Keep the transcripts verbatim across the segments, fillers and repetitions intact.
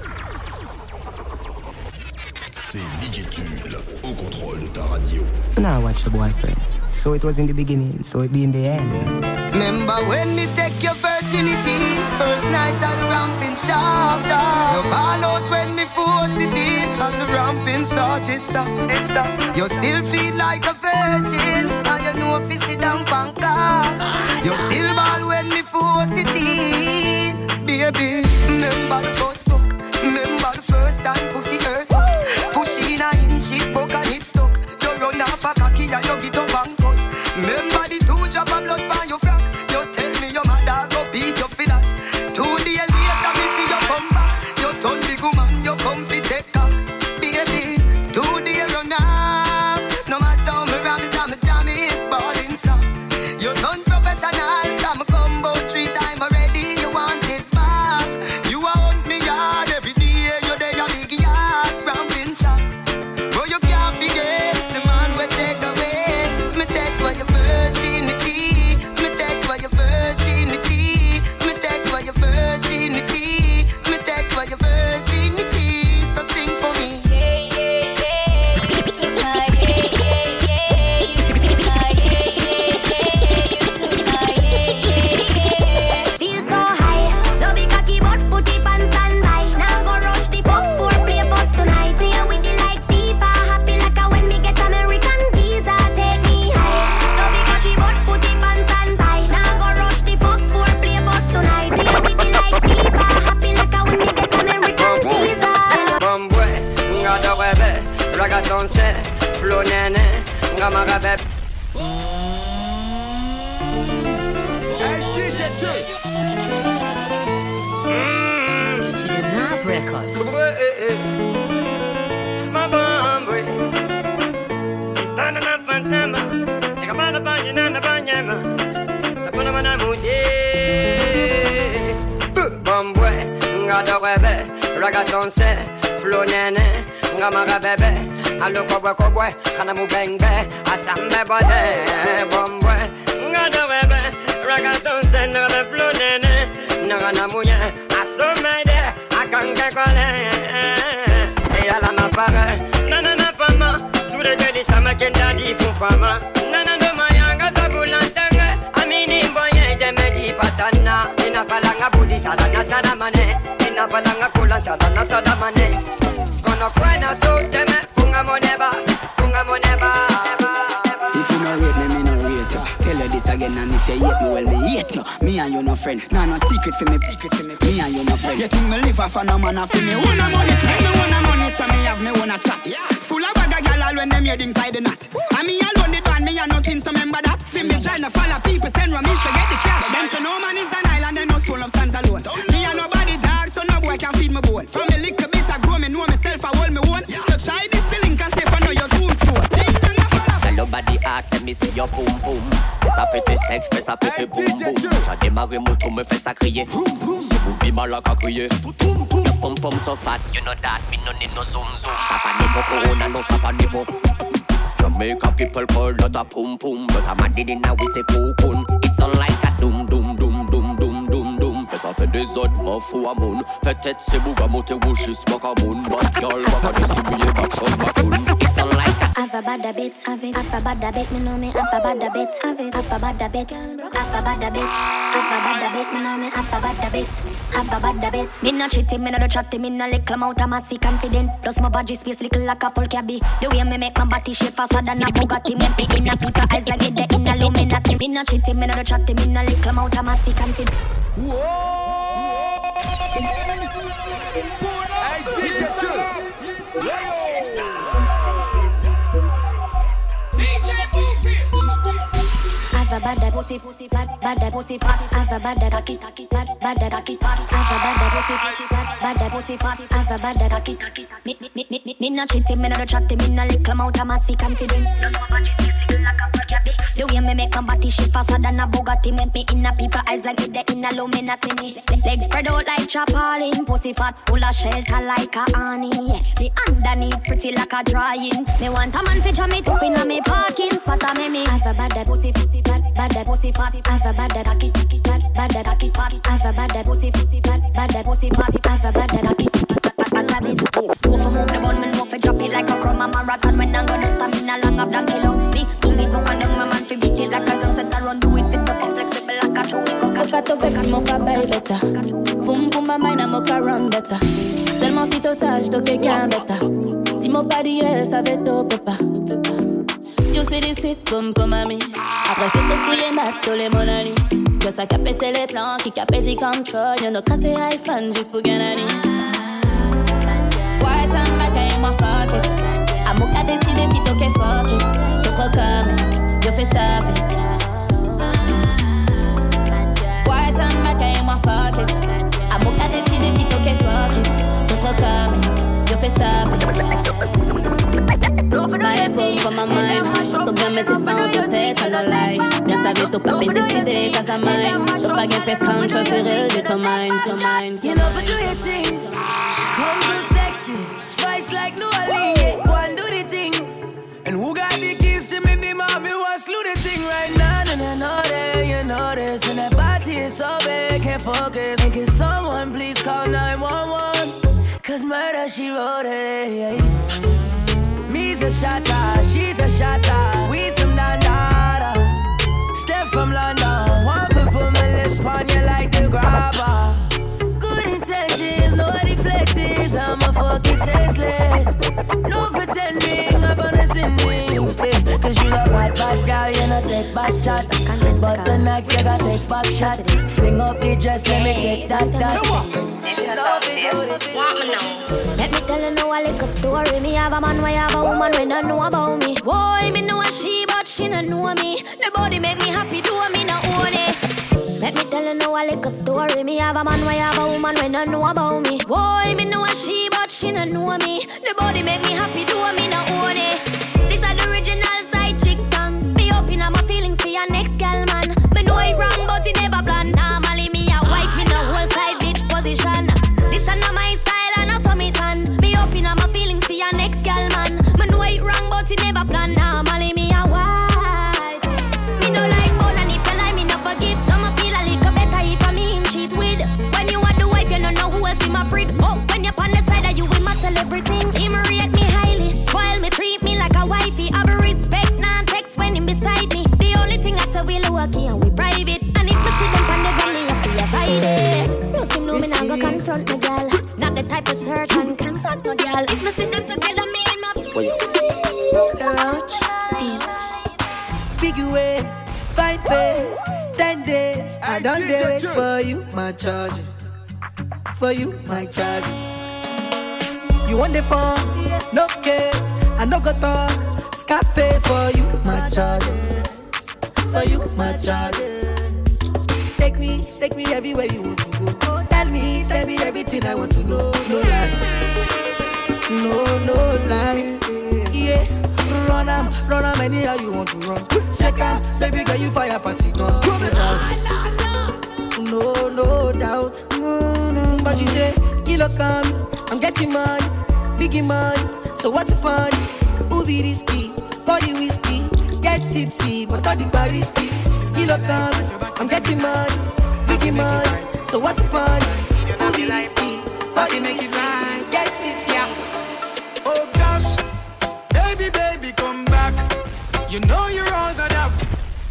C'est D J Tulle au contrôle de ta radio. Now watch your boyfriend. So it was in the beginning, so it be in the end. Remember when me take your virginity, first night at the ramping shop. You ball out when me force it in, as the ramping started stop. You still feel like a virgin, and you know if you sit down Bangkok. You still ball when me force it in, baby. Remember the first fuck, remember the first time pussy hurt. Push in a inch, it broke and it stuck. You run off a cocky and you get up and cut. Remember the two drop of blood by your frack. You tell me your mother go beat you for that. Two days later me see you come back. You turn big woman, you come fi take cock. Baby, two days run off. No matter how me ram it, I'm a jam it, ballin' stop. You turn professional, I'm a combo three time already. You want it back. You want me yard every day. You there a big yard, ramping shop. Bro, you can't forget the man we take away. Me take for your virginity. Me take for your virginity. Me take for your virginity. Me take for your virginity. So sing for me. Yeah, yeah, yeah. You took my yeah, yeah, yeah. You took my yeah, yeah, yeah. You took my yeah, yeah, yeah. Feel so high. Don't be cocky but put it on standby. Now go rush the fuck for play bus tonight. Play with it like FIFA. Happy like a when me get American visa. Take me high. Don't be cocky but put it on standby. Now go rush the fuck for play bus tonight. Play with it like FIFA. Happy like a when me get American visa. Bombwe, nga do bebe, ragaton se, flow nene, nga maga bebe. Still not records. Ma bombwe, itana na fantama, ikamana banyana na banyama, sapona mana muje. Bombwe, nga do bebe, ragaton se, flow nene, nga maga bebe. Allo kobwe kobwe, kana mu bengbe, asambe bode. Bombwe, nga do bebe, ragaton se, nga the flow nene, nga na muye, asomede, akange kole. Eyala ma fare, nana na fama, tous les deux les sama kenda di fufama. Nana no mayanga zabulantanga, amini mboye demedi fatana. Ina falanga budi sala na sadamane, ina falanga kula sala na sadamane. Kono kwena so teme, funga moneba, funga moneba. If you no rate me, me no rate you. Tell you this again, and if you hate me, well, me hate you. Me and you no friend. Nah, no secret for me, secret for me. Me and you no friend. You think me live off a no man off me? Wanna money, make me wanna money, so me have me wanna chat. Yeah. Full of bag of gal all when them heading tie the knot. And me alone the band, me and no twins, so remember that. For me trying to follow people, send Ramesh to get the cash. Them say no man is an island, and no soul of stands alone. Me and nobody dog, so no boy can feed me bone. From a little bit I grow, me know myself, I hold me own. So try this the link and say for know your tombstone. Hello body art, let me see your boom boom. Fais ça péter sec, fais ça péter boum boum. J'ai démarré moto, me fais ça crier. Ce boubi malak à crier. Le pom pom so fat, you know that. Me no need no zoom zoom. Ça pas niveau corona, non ça pas niveau. Jamaica people call that a pum pum, but I'm a diddy now we say cocoon. It's on like a doom doom doom doom doom doom doom. Fais ça fait des autres, m'en fous à mon. Fais tête c'est bouga monter wouchis, smoke à mon. Bad girl, baka distribuer, back shot, back cool. It's on like a Have a bad bit, have it. Have a bad bit, me know me. Have a bad bit, have it. Have a bad bit, have a bad bit. Have a bad bit, me know me. Have a bad bit, have a bad bit. Me not cheating, me not chatting, me not little amount of massy confident. Plus my body space little like a full cabby. The way me make my body shape faster than a Bugatti. Make me in a people eyes like it in a Illuminati. Me not cheating, me not chatting, me not little amount of massy confident. Whoa! Hey, D J Tulle. Have a bad pussy, pussy, bad, bad pussy, fat. Have a bad cocky, bad, bad cocky, fat. Have a bad pussy, pussy, bad, bad pussy, fat. Have a bad cocky, me, me, me, me, me, me not cheating, me not chatting, me not little amount of massy confident. Plus my body six little like a full cabby. The way me make my body shape faster than a Bugatti. Make me in a people eyes like it in a Illuminati. Legs spread out like chapalin, pussy fat full of shelter like a honey. Yeah. Me underneath pretty like a drying. Me want a man fi jam it up in a me parking spot. A me me have a bad pussy, pussy fat. Bad pussy fat, have a bad cocky, bad bad cocky fat, have a bad pussy, pussy fat, bad pussy fat, have a bad cocky. bête. Seulement si t'es sage, t'es quelqu'un bête. Si mon body est, ça va être papa. You see this sweet pum pum mami. Après que t'es crié nat, tous les mon ami. Que ça capette les plans, qui capette the control. Y'en a cassé iPhone juste pour gagner. White and black, I am a fuck it. I'm okay, décider si t'es ok, fuck it. T'es trop comique, you fais stop it. White and black, I am a fuck it. I'm okay, décider si t'es ok, fuck it. T'es trop comique, you fais stop it. My boom for my mind. T'as bien mettre ça en tête, on a lie. Bien savais, t'as pas pu décider, cause I'm mine. T'as pas gain peste comme je tirer de ton mind, ton mind. You know, for do your thing. She come so sexy, spice like New Orleans. Yeah, go and do the thing. And who got the keys to me, be mommy, wants to do the thing right now. And I know that, you know this. And that body is so big, can't focus. And can someone please call nine one one? Cause murder, she wrote it, yeah. Me's a shotter, she's a shotter. We some dandada. Step from London, one foot put my lips on you like the grabber. Good intentions, no deflectors. I'm a fucking senseless. No pretending, I'm on a sending. Yeah, cause you a bad, bad girl, you not take back shot. But the night you gotta take back shot. Fling up the dress, let me take that, that. Want me now? Let me tell you now a little story. Me have a man, why have a woman when I know about me. Boy, me know a she, but she don't know me. The body make me happy, do me not own it. Let me tell you now a little story. Me have a man, why have a woman when I know about me. Boy, me know a she, but she don't know me. The body make me happy, do me not own it. This is the original side chick song. Me open up my feelings for your next gal man. Me know it wrong, but it never plan. Normally me a wife, me no whole side bitch position. This is not my style and I saw me tan. Me open up my feelings for your next gal man. Me know it wrong, but it never plan. Normally me a wife. Me no like more than if you like me no forgive. Some I feel a little better if I me in cheat with. When you are the wife, you don't know who else in my freak. Oh, when you're on the side of you, we must tell everything. Him rate me highly, spoil me, treat me like a wifey. Have a respect, non text when him beside me. The only thing I say we low key and we private. And if we see them on the gun, me have to avoid it. No see no me not go confront the girl. Not the type of search and contact no girl. If we see them together, me in my feelings. Roach beat. Big ways, five days, ten days. I done do it for you, my charge. For you, my charge. You want the phone? No case. I no go talk. Scarface for you, my charge. For you, my charge. Take me, take me everywhere you want to go. Oh, tell me, tell me everything I want to know. No lie, no, no lie. Yeah, run am, run am anyhow you want to run. Check am, baby girl you fire pass it gun. No, no doubt. But you say, kilo come, I'm getting money, biggie money. So what's the fun? Who be risky? Body whiskey, get tipsy, but all the bar risky. Kilo come, I'm getting money, biggie money. So what's the fun? Who be risky? Body whiskey, get tipsy. Oh gosh, baby, baby, come back. You know you're all that I've.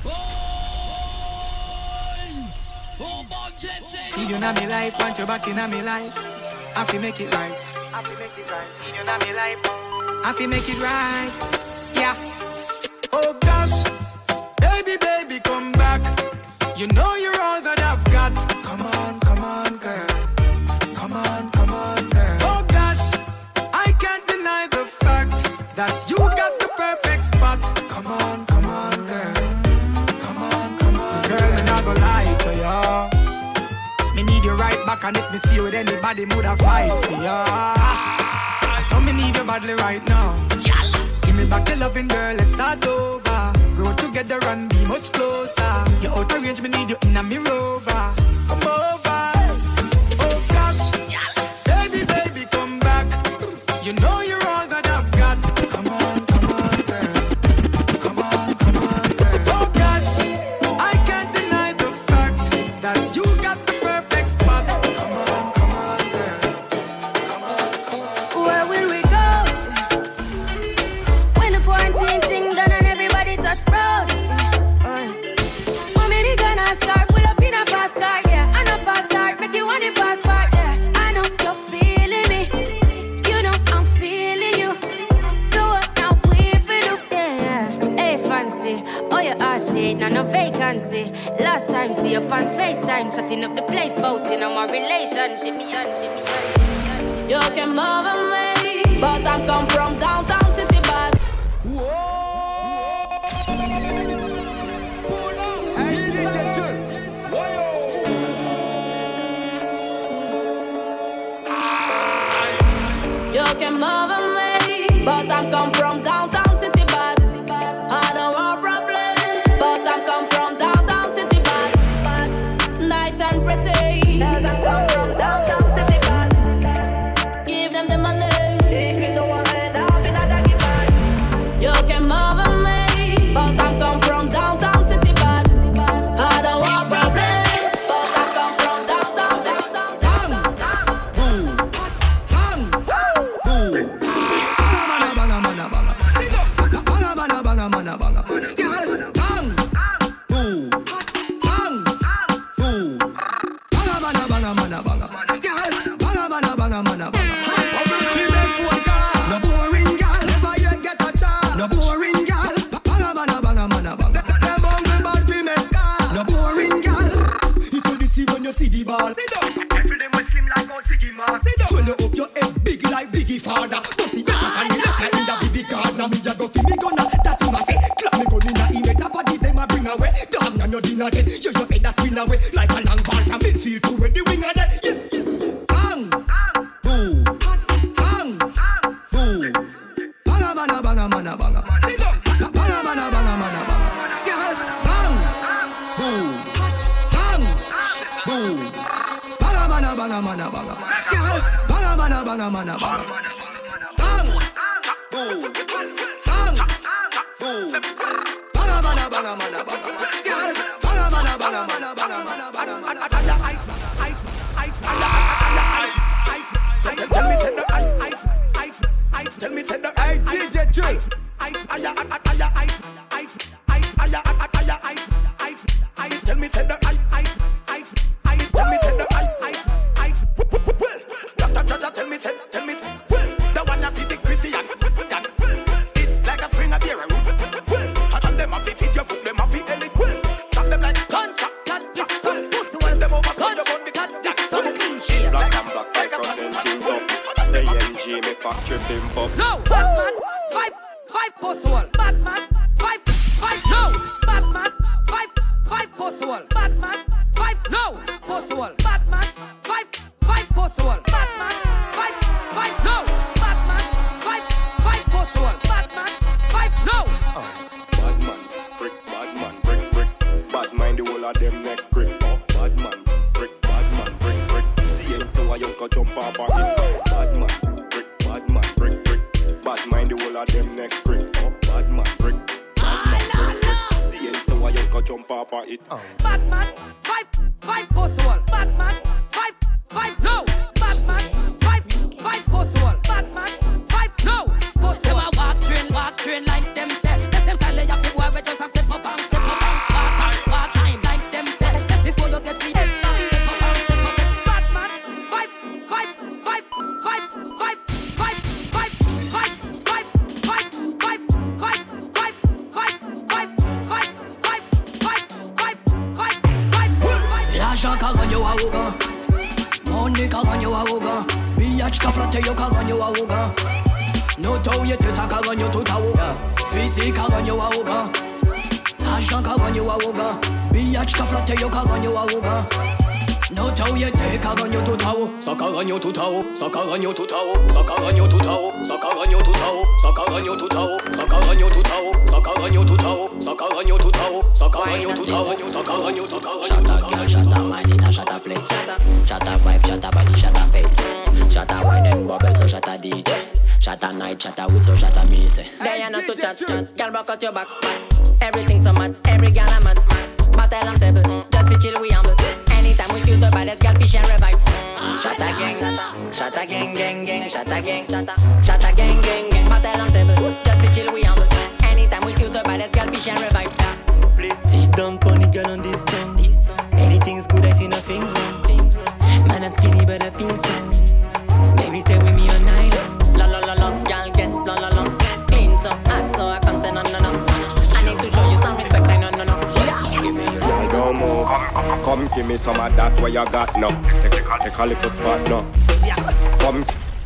You know me life, want you back in me life. I feel make it right. I feel make it right. You know me life. I feel make it right. Yeah. Oh gosh, baby, baby, come back. You know you're all that I've got. Come on, come on, girl. Come on, come on, girl. Oh gosh, I can't deny the fact that you got the perfect spot. Come on, come on, girl. Come on, come on, girl. Girl, I'm not gonna lie to ya. Me need you right back, and if me see you with anybody, would have fight for ya. So me need you badly right now. Give me back the loving, girl, let's start over. Grow together and be much closer. You're out of range, me need you in a me rover. Come over. Oh gosh, baby, baby, come back. You know you're all that I've got. Come on, come on, girl. Come on, come on, girl. Oh gosh, I can't deny the fact that you got the perfect spot. Come on, come on, girl. Come on, come on. Where will we go when the quarantine thing done and everybody touch road? Uh, Mommy, we gonna start pull up in a fast car. Lighting up the place, boating on my relationship. Me and ship, me and ship, me and ship. You can bother me, but I come from downtown city, bad. You can bother me, but I come from downtown city, bad. I don't want problem, but I come from downtown city, bad. Nice and pretty. I come from downtown city, bad. Give them the money. You can bother me, but I come from downtown city, bad. I don't want problem, but I come from downtown city, your back. Everything so mad, every gal a man. Battle on table, just fi chill we humble. Anytime we choose the baddest gal, fish and revive. Shot a gang, shot a gang, gang, gang, shot a gang, shot a gang, gang, gang. Battle on table, just fi chill we humble. Anytime we choose the baddest gal, fish and revive. Sit down, pony girl on this song. Anything's good, I see nothing's wrong. Man, I'm skinny, but I feel strong. Baby, stay with me all night long. La la la la, gal get la la la. Clean so hot, so I can't say no no no. I need to show you some respect, I no no no. Give me your girl, don't move. Come give me some of that where you got now. Take, take a little spot now. Come.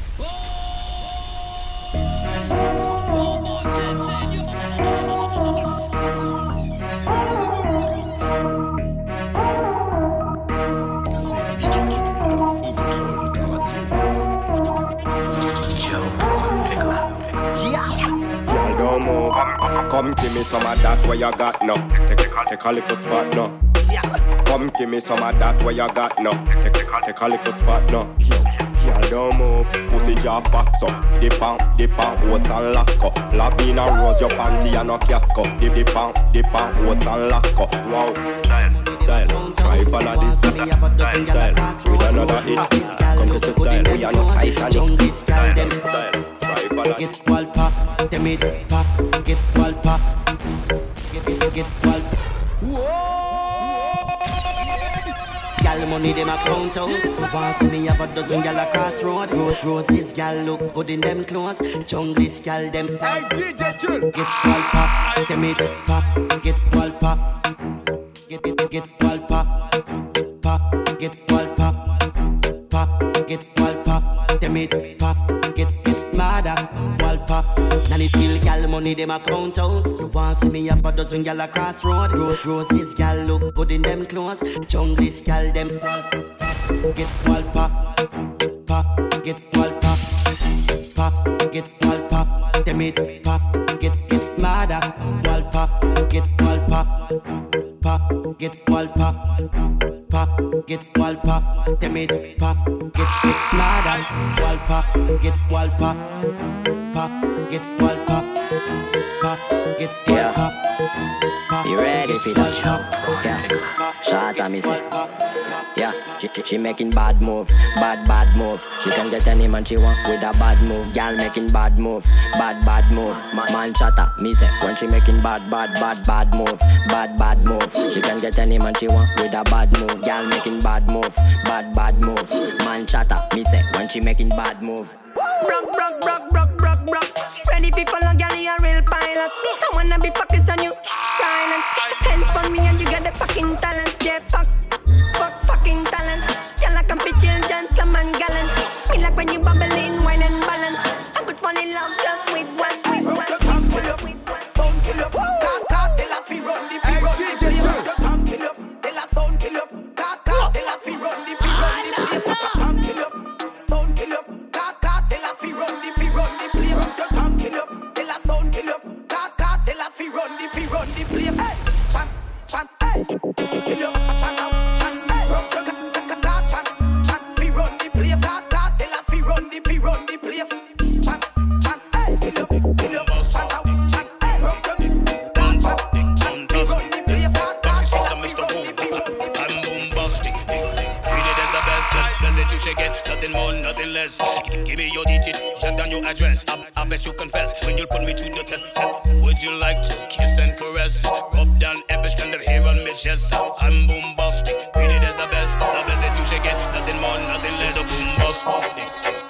Come give me some of that where you got now. Take, take a little spot now. Come give me some of that where you got now. Take, take a little spot now. Y'all don't move, pussy jaw fat so. Dip on, dip on, oats and lasco. Lavina rose your panty and no casco. Dip, dip on, dip on, oats and lasco. Wow. Style, try follow this. Style, with another hit. Come to the style, we are not Titanic. Style, style. Get wall pop, them it pop, get wall pop, get get get wall. Whoa! Gal money them a count out. Want see me have a dozen gal across road. Rose roses gal look good in them clothes. Junglist gal them. Hey D J Chill. Get wall pop, them it pop, get wall pop, get get get wall pop, pop, get wall pop, pop, get wall pop, them it pop, get. Mada, wall pop. Nanny feel gal money them a count out. You want see me have a dozen gal across road. Rose roses gal look good in them clothes. Junglist gal them. Get wall pop, pop, get wall pop, pop, get wall pop. Them it pop, get get mada, wall pop, get wall pop, pop, get wall pop, pop, get wall pop. Them it pop, get get mada, wall pop, get wall pop, pop, get wall pop, pop, get wall pop. You ready for that show? Yeah, shot at me say. Yeah, she, she, she making bad move, bad bad move. She can get any man she want with a bad move. Girl making bad move, bad bad move. Ma- man chatter, me say when she making bad bad bad bad move, bad bad move. She can get any man she want with a bad move. Girl making bad move, bad bad move. Man chatter, me say when she making bad move. Brock, brock, brock, brock, brock, brock. Ready for follow, girl, you a real pilot. I wanna be focused on you, silent. Hands on me and you got the fucking talent. Yeah, fuck, fuck, fucking talent. Girl, I can be chill, gentleman, gallant. Me like when you bubbling, wine and balance. I could fall in love just with one, with one. Your tongue kill up, phone kill up. Car, tell us we run the, we run the place. Your tongue kill up, tell us phone kill up. Car, car, tell us we run the, we run the place. Your tongue kill up, phone kill up. Fi run the, fi run the place. Rock your tongue, kill up. Tell a sound, kill up. Car, car, tell a fi run the, fi run the place. Hey, chant, chant, hey, kill up, chant out, chant, hey. Rock your car, car, chant, chant, fi run the place. Car, car, tell a fi run the, fi run the place. Chant, chant, hey, kill up, kill up, chant out, chant, hey. Rock your car, chant, chant, fi run the place. Car, car, tell a fi run the, fi run the place. I'm bombastic. Read it as the best. Best that you should get. Nothing more, nothing less. Give me your digit, jot down your address. I, I bet you confess when you'll put me to the test. Would you like to kiss and caress? Rub down every strand of hair on my chest. I'm bombastic, read it as the best. The best that you should get, nothing more, nothing less. The bombastic,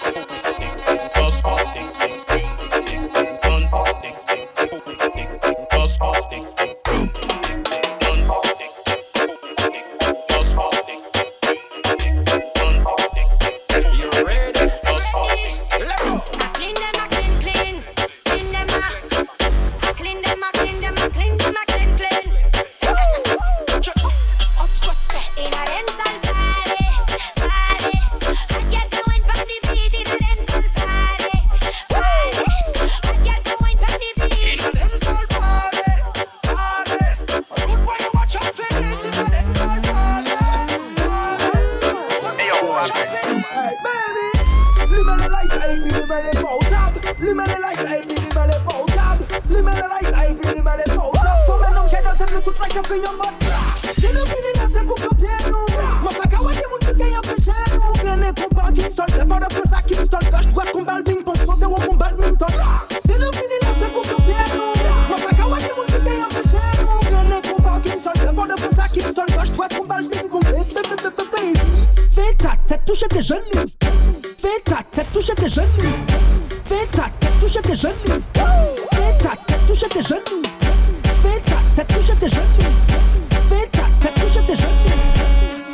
bombastic, toucher tes genoux. Fais ta tête toucher tes genoux. Fais ta tête toucher tes genoux. Fais ta tête toucher tes genoux. Fais ta tête toucher tes genoux. Fais ta tête toucher tes genoux.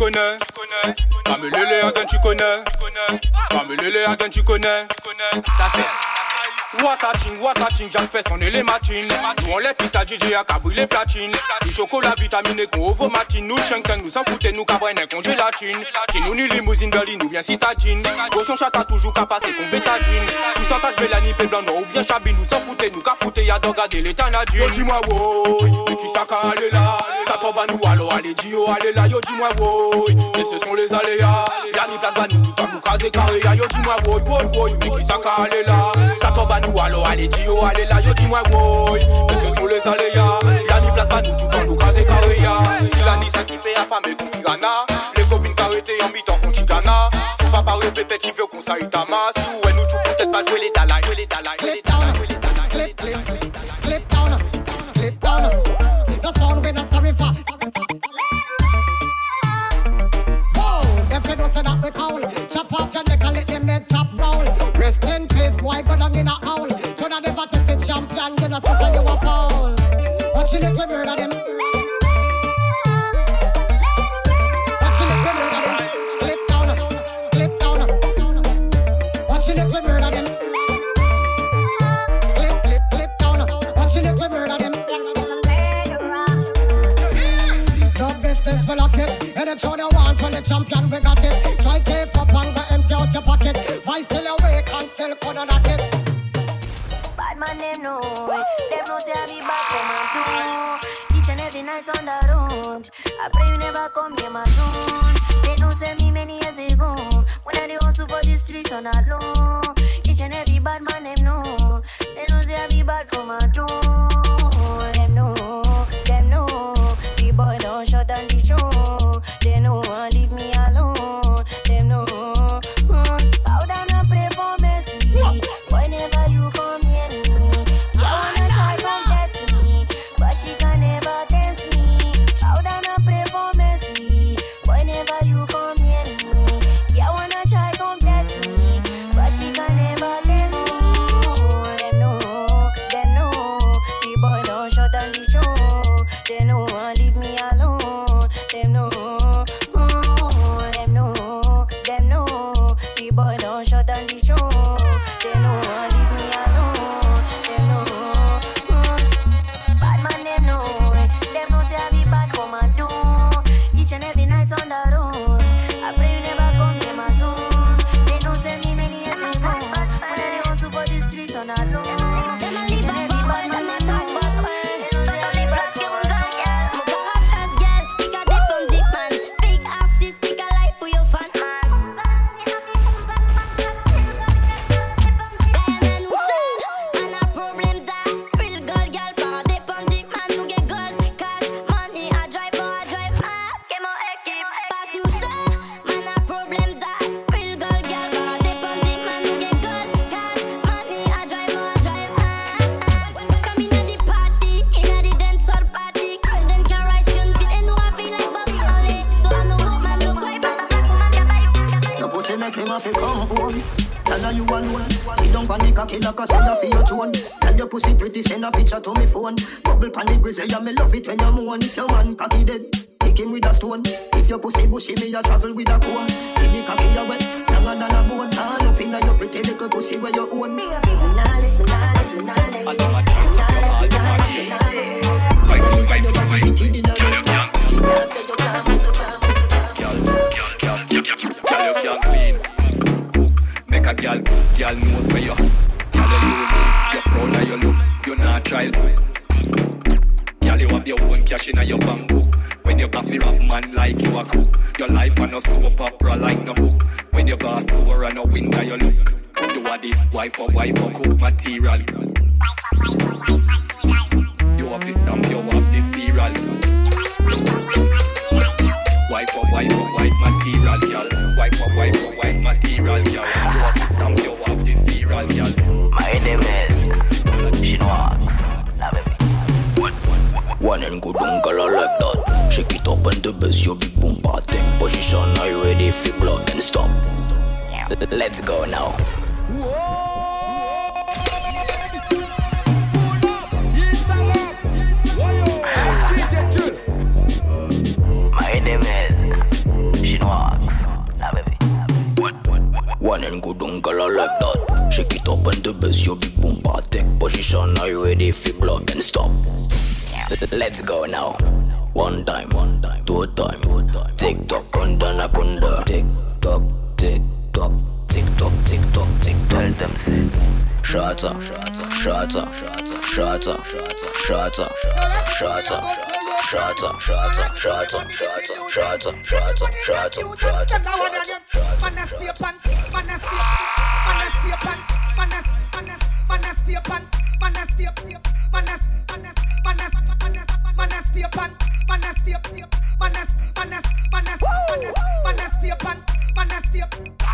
connais. Mamelele Aden, tu connais. Mamelele Aden, tu connais. Ça fait. Watating, watating, Jack fait son les matines. Nous on les pisse à J J à cabri les platines. Du chocolat vitaminé qu'on ouvre matine. Nous chenken, nous s'en foutez, nous cabrennes qu'on gélatine. Qui nous ni limousine berline, nous bien citadine. Gros son chata toujours qu'à passer qu'on bétadine. Nous sentage Bélanie, Pé blanc, ou bien chabine. Nous s'en foutez, nous qu'à fouter, y'a d'en garder les tanadines. Yo dis-moi woy, mais qui ça qu'à aller là. Ça tombe à nous, alors allez, dis yo, allez là. Yo dis-moi woy, mais ce sont les aléas. Y'a ni place, bah nous, tout à nous craser carré. Yo dis-moi woy, woy, woy, mais qui ça qu'à aller là. Ça tombe à nous, alors allez, dis yo, allez là, yo dis-moi woy. Mais ce sont les aléas. Y'a ni place, bah nous, tout à nous craser carré. Si la Nissa qui paye à femme et qu'on pirana. Les copines carrétées en mi-temps qu'on chicana. Si papa ou pépé qui veut qu'on s'aille ta masse. Si ou elle nous tue peut-être pas jouer les dalai, jouer les dalai, jouer les dalai, jouer les dalai. Clip, clip, clip down, clip down. No sound we no sorry for. Whoa, if you don't say that we call, chop off your neck and let them head top roll. Rest in peace, boy, go down in a hole. Should have never tested champion, you know, sister, you a fall. Watch it, we murder them. Watch it, we murder them. Clip down, clip down. Watch it, we murder them. Clip, clip, clip down. Watch it, we murder them. No business for lock it. Any show they want when the champion we got it. Try keep up and go empty out your pocket. Vice still awake and still couldn't knock it. Bad man them know, them know say I be back from my door. Each and every night on the road, I pray you never come near my zone. They don't say me many years ago, when I dey hustle for the streets on that low. Each and every bad man them know, they don't say I be back from my door. Them know, them know, the boy don't shut down the show. They know and leave me alone. Them know, bow down and pray for mercy. Whenever you come near me, I wanna try confess me, but she can never tempt me. Bow down and pray for mercy. Whenever you come near me, I wanna try confess me, but she can never tempt me. Them know, them know, the boy don't shut down the show. They know and leave me alone. Them know, them know, them know, the boy don't shut down the show. They know and leave me alone. Them know, bad man them know. Them know say I be bad for my door. Each and every night on the road, I pray you never come near my zone. They don't say me many years ago, when I dey hustle for the streets on the low. Each and every bad man me know. They don't say I be bad for my door. You alone. Sit down on the cocky like a sailor for your throne. Tell your pussy pretty, send a picture to me phone. Bubble pan the grizzly, yeah, me love it when you moan. If your man cocky dead, kick him with a stone. If your pussy bushy, me a travel with a comb. See the cocky you wet, younger than a bone. Turn up inna your pretty little pussy where you own. Me nah live, me nah live, me nah live, me nah live, me nah live, me nah live. Why do you, why do you, why do you, kid inna your young? Girl, say you can't, say you can't, say you can't. Girl, girl, girl, girl, you can't clean. Make a girl, girl knows where you. Girl, you unique, you're proud of your look. You're not child hook. Girl, you have your own cash in your bank book. When you coffee rap man like you a cook. Your life and no soap opera like no book. When you go store and no window you look. You are the wife or wife or cook material. You have the stamp, you have the cereal. Wife or wife or white material, girl. Wife or wife or white material, girl. You have the stamp, you have the cereal, girl. My name is Chinois. One and good uncle, I like that. Shake it up and the best, your big boom party. Position, are you ready? If block and stop. Let's go now. My name is fun and good uncle I like that. Shake it up and the best, your big boom take position. Are you ready for block and stop? Let's go now. One time, one time, two time, two time. Tick tock, kunda na kunda. Tick tock, tick tock, tick tock, tick tock, tick tock. Tell them sit. Shata, shata, shata, shata, shata, shata, shata, shata, shata, shata, shata, shata, shata, shata, shata. Manas spear pan, manas spear, manas spear pan, manas, manas, manas spear pan, manas spear, manas, manas, manas, manas, manas spear pan, manas spear, manas, manas, manas, manas, manas spear pan, manas spear.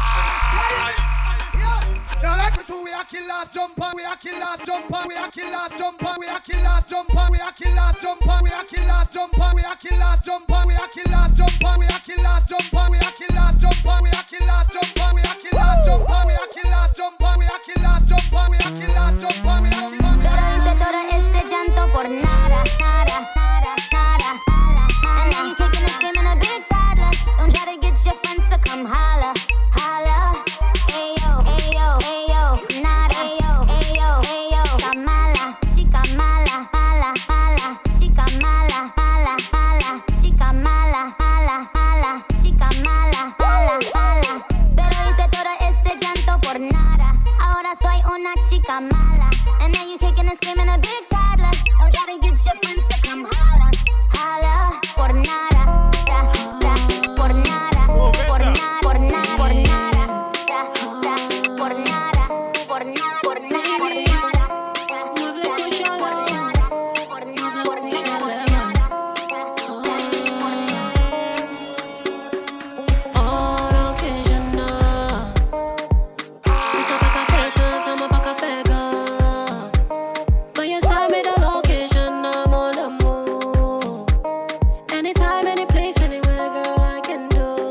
Now like we do, we a kill off, jump on, we a kill off, jump on, we a kill off, jump on, we a kill off, jump on, we a kill off, jump on, we a kill off, jump on, we a kill off, jump on, we a kill off, jump on, we a kill off, jump on, we a kill off, jump on, we a kill off, jump on, we a kill off, jump on, we a kill off, jump on, we a kill off, jump on, we a kill off, jump on, we a kill off. Pero hice todo este llanto por nada, nada, nada, nada. And now you kicking and screaming a big toddler. Don't try to get your friends to come holla, holla. Ayo, ayo, ayo, nada. Ayo, ayo, ayo. Chica mala, chica mala, mala, mala. Chica mala, mala, mala. Chica mala, mala, mala. Chica mala, mala, mala. Pero hice todo este llanto por nada. Ahora soy una chica mala. And then you kicking and screaming a big toddler. Don't try to get your friends to come holla, holla. Por nada, da, da, por nada, por nada, por nada, por nada, da, da, por nada, por nada, por nada, por nada, da, da, por nada, por nada, por nada, On occasion, si so pa ka fe sa, sa mo pa ka fe ka. But you saw me the location, I'm on the move. Anytime, any place, anywhere, girl, I can do.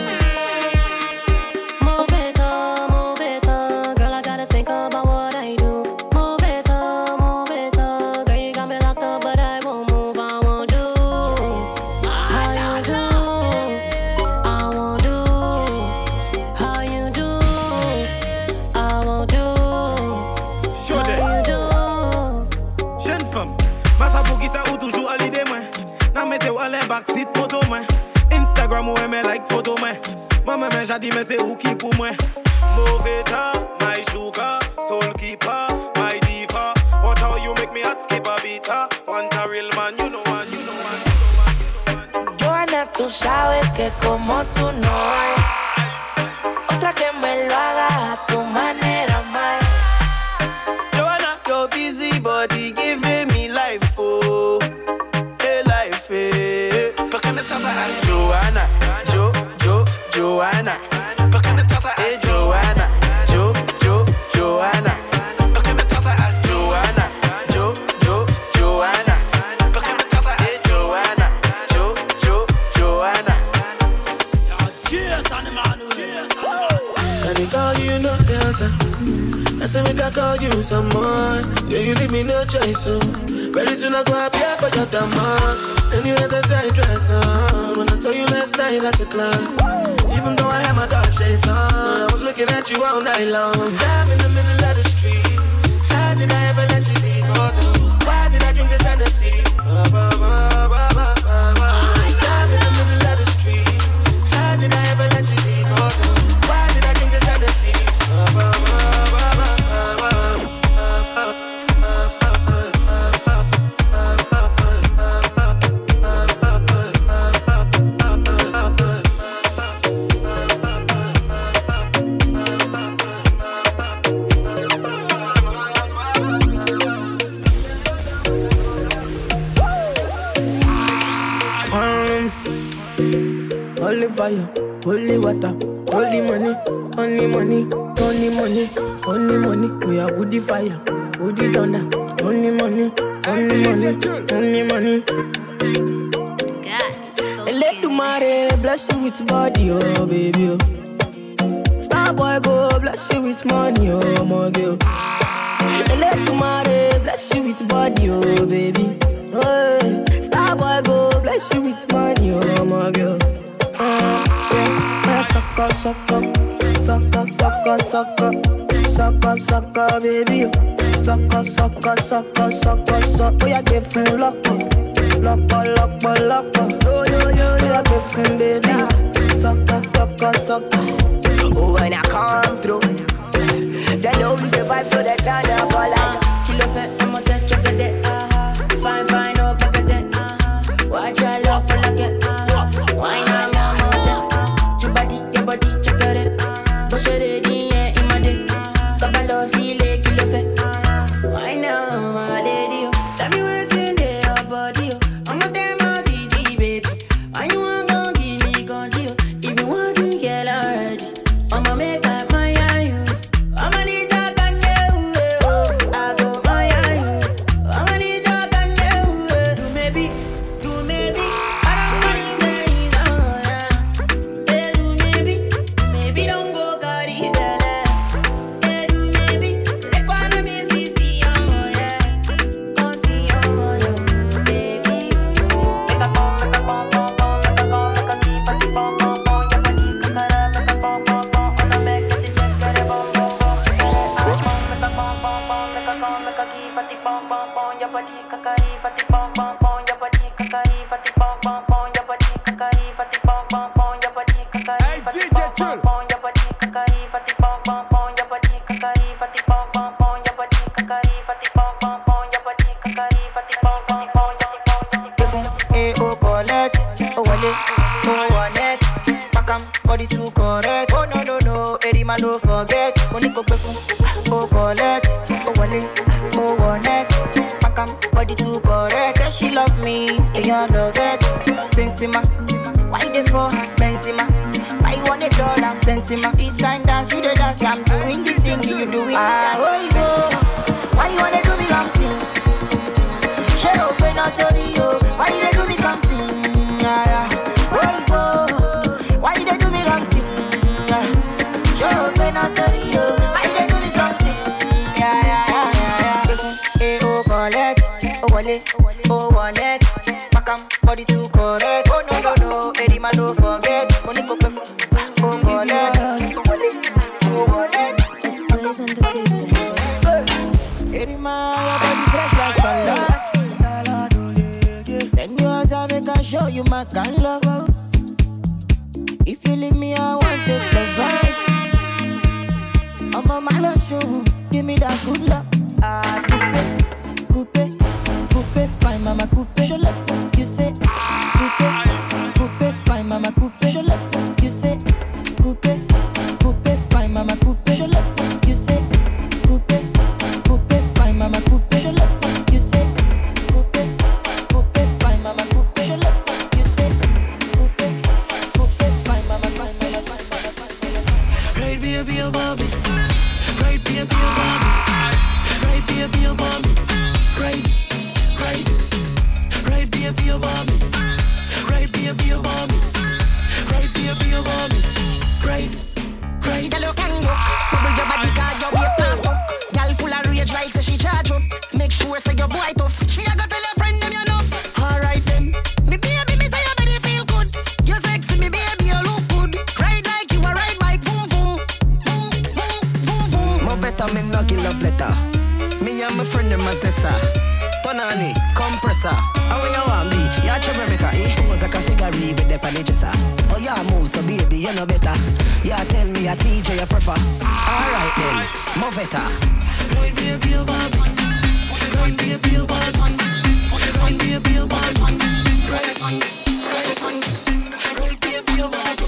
Move it on, move it on, girl, I gotta think about what I do. Move it on, move it on, girl, you got me locked up, but I won't move, I won't do. How you do? I won't do. How you do? I won't do. Show them. How you do? Jeune femme, massa pour qui ça ou toujours à l'idée moi. N'a mettez ou à les backseat photo moi. Instagram ou aimer like photo moi. Moi même j'ai dit mais c'est où qui pour moi. Mauvais temps, my sugar, soul keeper, my diva. What how you make me hot skip a beat ah. Want a real man, you know one, you know one. Joana, tú sabes que como tú no hay otra que me lo haga a tu manera, más. Joanna, your busy body giving me life, oh, hey life, eh. ¿Por qué me tratas así? Joanna, Jo, Jo, Joanna. ¿Por qué me tratas así? Joanna, Jo, Jo, Joanna. ¿Por qué me tratas así? Joanna, Jo, Jo, Joanna. ¿Por qué me tratas así? Joanna, Jo, Jo, Joanna. Cheers, animal, cheers, animal. Can I call you no dancer? I say we can call you some more. Yeah, you leave me no choice, so very soon I go up here for your demand. And you had the tight dress on when I saw you last night at the club. Even though I had my dark shades on, I was looking at you all night long. Dive in the middle of the street. How did I ever let you leave? Oh, why did I drink this Hennessy? Ba, ba, ba, ba, ba, ba, ba. Dive in the middle of the street. How did I ever let you leave? Oh, why did I drink this Hennessy? Ba, ba, ba, ba, ba, ba, ba. Holy fire, holy water, holy money, only money, only money, only money. We are woody fire, woody thunder, only money, only money, only money. Let the mare bless you with body, oh baby. Oh. Star boy go bless you with money, oh my girl. Let the mare bless you with body, oh baby. Oh, star boy go bless you with money, oh my girl. Uh, yeah, suck up, suck up, suck up, sucker, sucker, sucker, sucker, baby. Sucker, sucker, sucker, sucker, sucker. Oh, you give me lock up, lock up, lock up, lock up. Yo, yo, yo, you give me baby. Sucker, sucker, sucker. Oh, when I come through, they know we the vibe, so they turn up all like. Kilo fait, I'm a dead check it, ah. Fine, fine, oh, back it, ah. Watch your love for like it, ah. Why not, mama, ah. Your body, your body, check it, ah. Push it in, yeah, in my dick, ah. Kabalo, see, le, kilo fait, ah. Why not, my lady, tell me what's in there, your body, I'm a damn easy, baby. Why you want to give me control? If you want to get already, I'ma make up my eye. I'ma need to can you. I go my eye. I'ma need to can you. Do maybe, do maybe. I don't want these oh yeah. Hey, do maybe, maybe don't go carry belly. Hey, do maybe, let go on me see see oh yeah. Go see oh yeah, baby. Make a pom, make a pom pom pom, make a pom, make a keep a keep pom pom pom. Your body kakara, make a pom pom pom. On a make it check get it pom pom pom. Make a pom pom pom, make a pom, make a keep a keep pom pom pom. Your body kakari, fati pom pom pom. Your body kakari, fati pom pom pom. Your body kakari, fati pom pom pom. Your body kakari, fati pom pom pom. Your body kakari, fati pom pom pom. Your body kakari, fati pom pom pom. Your body kakari, fati pom pom pom. Your body kakari, fati pom pom pom. Eh, oh, collect, oh, wale, oh, one net. Pakam, body too correct. Oh, no, no, no, Eddie man, don't forget. Money go befu, oh, collect, oh, wale, oh, one net. Pakam, body too correct. Say she love me, and you love it. Sensima, why they for her? Benzema, why you want a dollar? Sensima, this kind dance, you the dance. I'm doing this thing, you doing the dance. Oh, you go, why you wanna do me long thing? Share open up, sorry, yo. Why you they do me something? Yeah, yeah. Why you go? Why you they do me wrong thing? Yeah. Share open up, sorry, yo. Why you they do me something? Yeah, yeah, yeah, yeah, yeah. Eh, oh, collect, oh, wale, oh, one net. Pakam, body too correct. Oh, no, no, no, Eddie man, don't forget. Money go pay, oh, collect, oh, wale, oh, one net. It's always on the big. Eddie man, your body fresh like spotlight. Send yours, I make I show you my kind love. If you leave me, I want to survive. I'm on my last show, give me that good luck. Ah, coupe, coupe, coupe, fine, mama, coupe. Je let you say, coupe, coupe, fine, mama, coupe. Je let you say, coupe, coupe, fine, mama, coupe. Je let you say, coupe, coupe, fine, mama, coupe. Je let you say. Right, baby, oh, Bobby. Right, baby, oh, Bobby. Right, baby, oh, Bobby. Right, right. Right, baby, oh, Bobby. Right, baby, oh, Bobby. Right, baby, oh, Bobby. Right, right. Girl, you can go. Bubble your body, cause your waist not stuck. Girl full of rage like say she charge up. Make sure say your boy tough. She a go tell your friend them you enough. Alright then. Me baby, me say your body feel good. You sexy, me baby, you look good. Ride like you a ride bike, boom boom, boom boom boom boom. More better, me no give love letter. Me and my friend them a sister. Tonani, compressor. How you want me? You a trouble maker, eh? Pose like a figure with the panny dresser. Oh yeah, move so baby, you know better. Yeah, tell me a T J you prefer. Alright then, more better. Right, baby, oh, Bobby. Right, baby, oh, Bobby. Right, baby, oh, Bobby. Right, right, right, baby, oh, Bobby.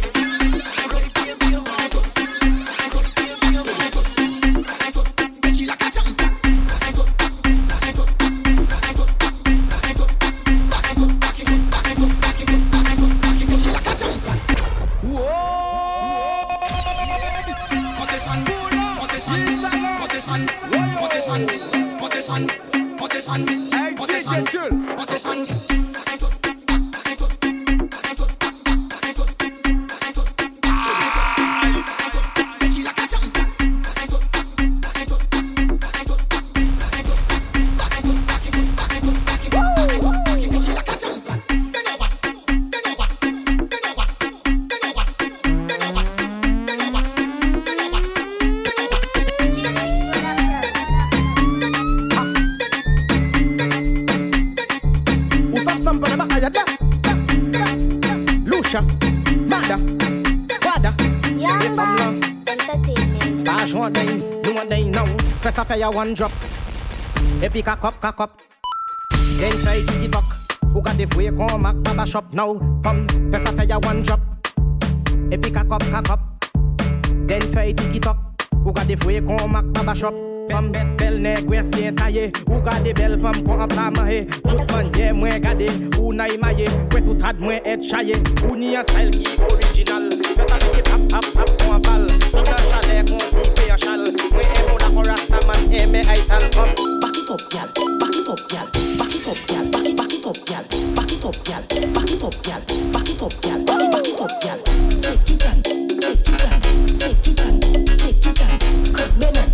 Fais ça fait ya one drop. Et puis cock up, cock up. Then try TikTok. Who got the free come back baba shop now? Come, fais ça fait ya one drop. Et puis cock up, cock up. Then try TikTok. Who got the free come back baba shop? Femme belle, belle nègre, bien taillée. Ou gade belle femme qu'on a pas mahé. Tout monde est moins gade, ou n'a maillé. Ouais tout ad moins être chaillé. Ou ni un style qui original. Fais ça qui tap tap tap qu'on balle. Tout un chalet qu'on fait un chal. Moi et mon accord rastaman et mes aital comme. Back it up, gal. Back it up, gal. Back it up, gal. Back it, back it up, gal. Back it up, gal. Back it up, gal. Back it up, gal. Back it, back it up, gal. Take it down, take it down, take it down, take it down. Cut me now.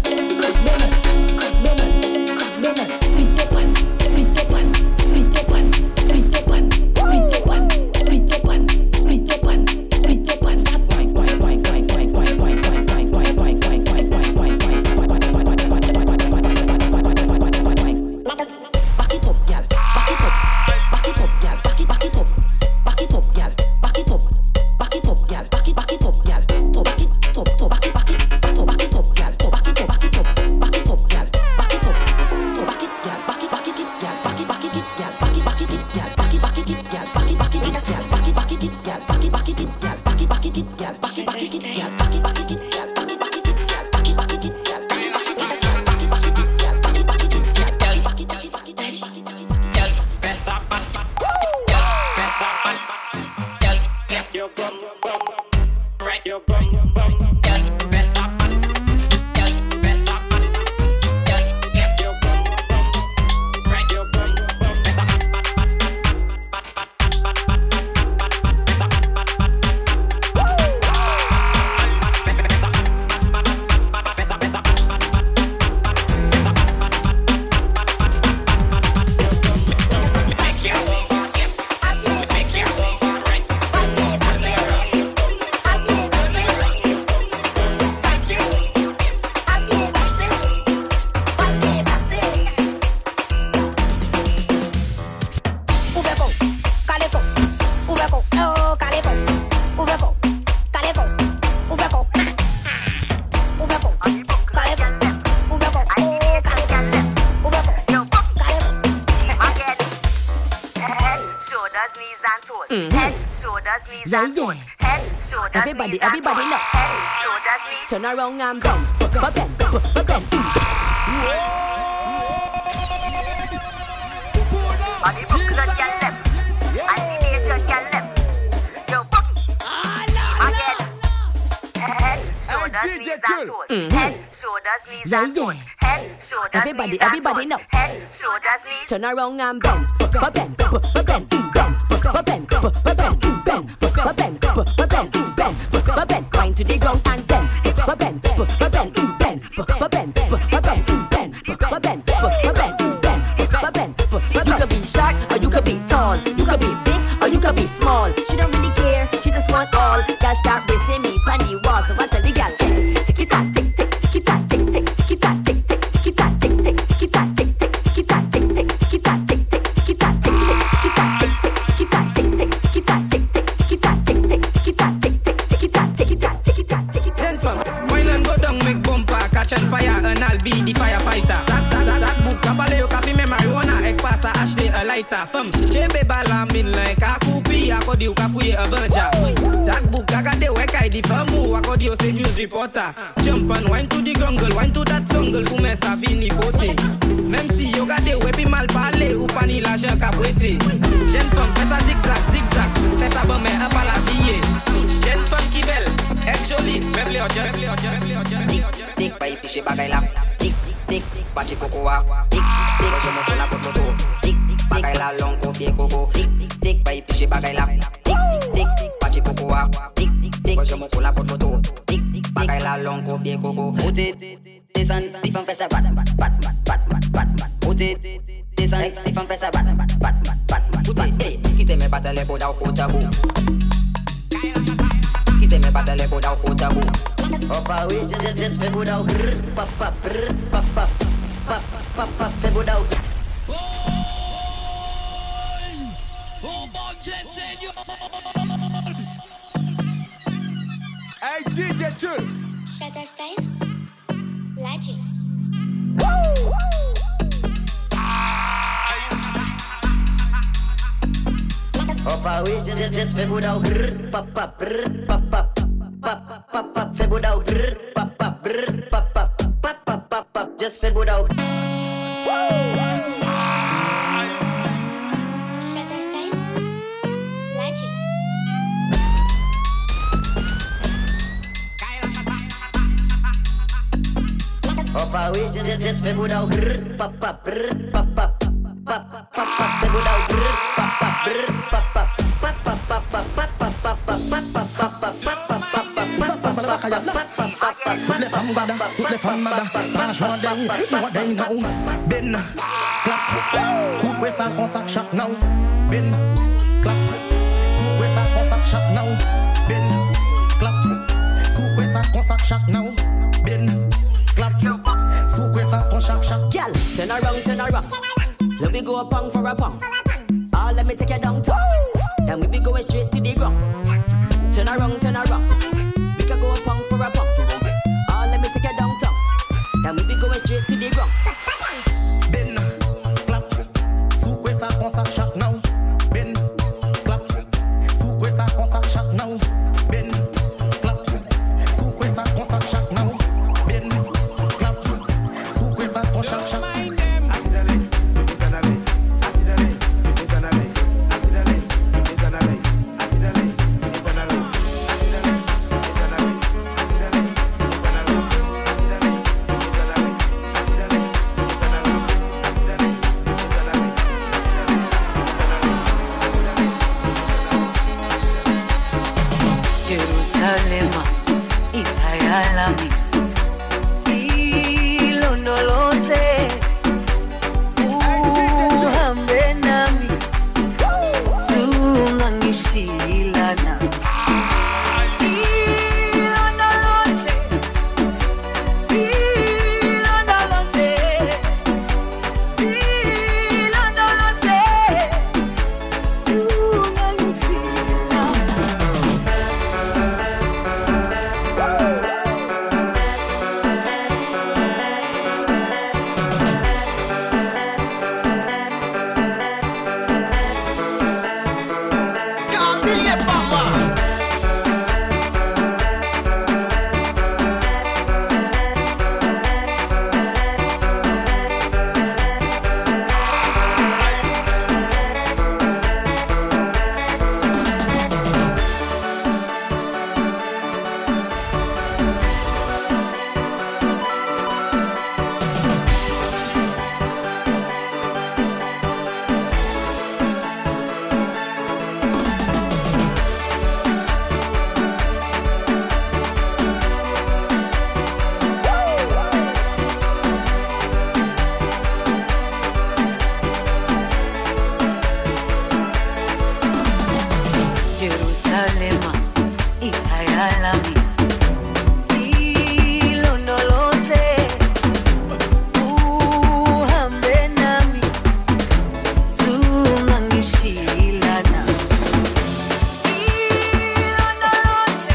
Everybody, everybody look. Turn around and bend, bend, bend, bend. Body book the girl left, animate your girl left. Yo, Bucky, again. Head, shoulders, knees and toes. Head, shoulders, knees and toes. Head, shoulders, everybody, knees and everybody toes. look. Head, shoulders, knees. Turn around and bend, bend, bend, bend, bend, bend, bend, bend, bend, bend, bend. Bend, wind to the ground and bend, bend, bend, bend, bend, bend, bend, bend, bend, bend, bend. You could be short or you could be tall, you could be big or you could be small. She don't really care, she just want all. Girl start racing me on the wall, so I tell the girl, tick it tack, tick tick, tick it tack, tick tick, tick it tack, tick tick, tick it tack, tick tick, tick it tack, tick tick, tick it tack, tick tick, tick it tack, tick tick, tick it tack, tick tick, tick it tack, tick tick, tick it tack, tick tick, tick it tack, tick tick, tick it tack, tick tick, tick it tack, tick tick. Wine and go down, make bumper, catch and fire, and I'll be the firefighter. That, that, that, that book, kabale yo kafi me marijuana, ek pasa Ashley a lighter. Fem, chebe balamin like a kupi, akodi yo kafuye a banja. That book, agade wek I di famu, akodi yo se news reporter. Jump and wine to the jungle, wine to that jungle, ume sa fini fote. Même si yo gade wepi mal pale, ou pani la jen kapwete. Jen fem, fesa zigzag, zigzag, fesa bame a pa la vie. Jen fem ki bel, ek joli, meble o jen, meble o jen, meble o jen. Tik, bay piche bagay la. Tik, tik, pachi kokoa. Tik, tik, ojo mo la pot moto. Tik, bagay la long ko pie koko. Tik, tik, bay piche bagay la. Tik, tik, pachi kokoa. Tik, tik, ojo mo la pot moto. Tik, bagay la long ko pie koko. Put it, descend, if I'm fessa bat, bat, bat, bat, bat, bat, bat. Put it, descend, if I'm fessa bat, bat, bat, bat, bat. Put it, hey, kite me patale poda o potabu. Kite me patale poda o potabu. Up away, just, just, just fais beau d'au brrr, pop, pop, brrr, pop, pop, pop, pop, pop, fais beau d'au. Hey D J Jules. Shutter style, Lachi. Opa oui, just, just, just fais boudao brrr, pap, pap, brrr, pap, pap, pap, pap, pap, fais boudao brrr, pap, pap, brrr, pap, pap, pap, pap, pap, pap, just fais boudao. Opa oui, just, just, just fais boudao brrr, pap, pap, brrr, pap, pap, pap, pap, pap, fais boudao brrr, pap, pap, brrr, pap, pap, pap, pap, pap, pap, pap, pap, pap, pap, pap, toutes les femmes bada, toutes les femmes bada, mangeons day, what they know, bin, clap, soupe ça qu'on sac chaque now, bin, clap, soupe ça qu'on sac chaque now, bin, clap, soupe ça qu'on sac chaque now, bin, clap, soupe ça qu'on sac chaque. Girl, turn around, turn around, let me go a pong for a pong. Ah, let me take you down to, then we be going straight to the ground. Turn around, turn around, we can go a pong for a pong. Ah, let me take you downtown, then we be going straight to the ground. Bin, clap, soupe ça qu'on sac chaque now, bin, clap, soupe ça qu'on sac chaque now, bin, clap, soupe ça qu'on sac chaque now, bin, clap, soupe ça qu'on sac chaque. Jerusalema, ikayalami, ilondoloze, uhambe nami, zungangishilana. Ilondoloze, ilondoloze, ilondoloze, zungangishilana. Jerusalema, ikayalami, ilondoloze, uhambe nami, zungangishilana. Ilondoloze,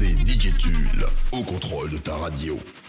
C'est D J Tulle au contrôle de ta radio.